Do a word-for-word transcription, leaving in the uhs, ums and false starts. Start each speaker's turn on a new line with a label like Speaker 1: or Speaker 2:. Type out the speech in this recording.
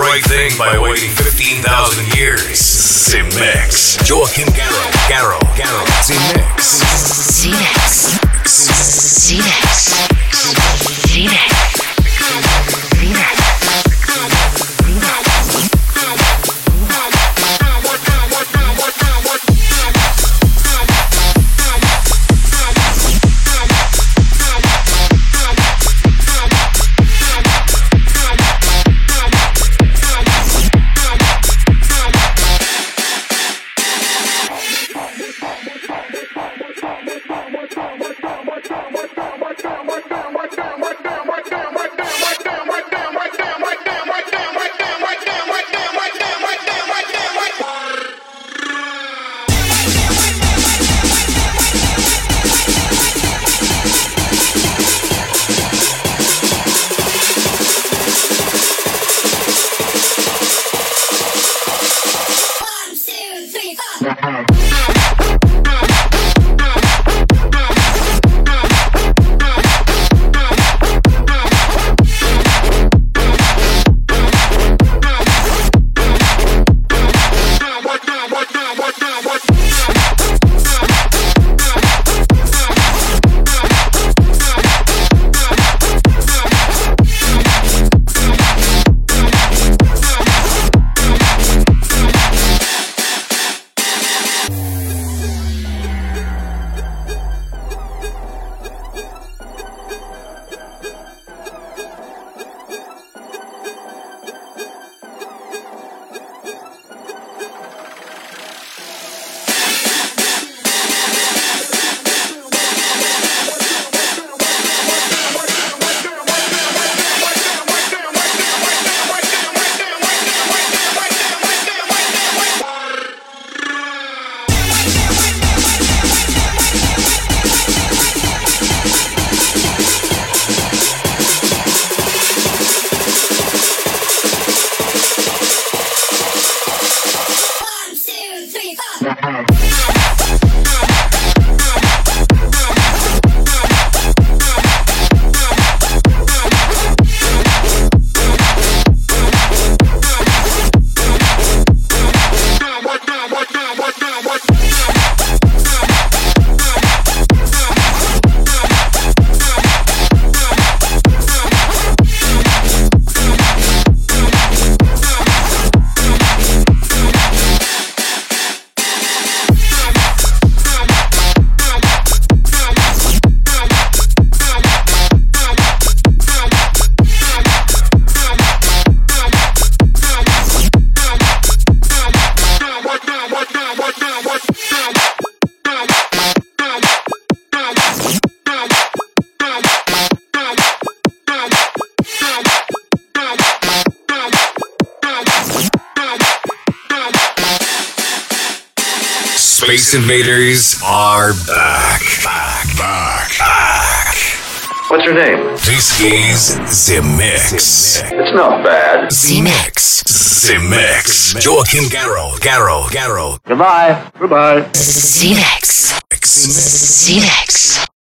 Speaker 1: right thing by waiting fifteen thousand years. Z-Mix. Joachim Garraud. Garraud. Garraud. Z-Mix.
Speaker 2: Z-Mix. Z-Mix. Z-Mix.
Speaker 1: Space Invaders are back. Back. Back. Back.
Speaker 3: What's your name?
Speaker 1: This is Z-Mix.
Speaker 3: It's not bad.
Speaker 2: Z-Mix.
Speaker 1: Z-Mix. Joachim Garraud. Garraud. Garraud.
Speaker 3: Goodbye. Goodbye.
Speaker 2: Z-Mix. Z-Mix.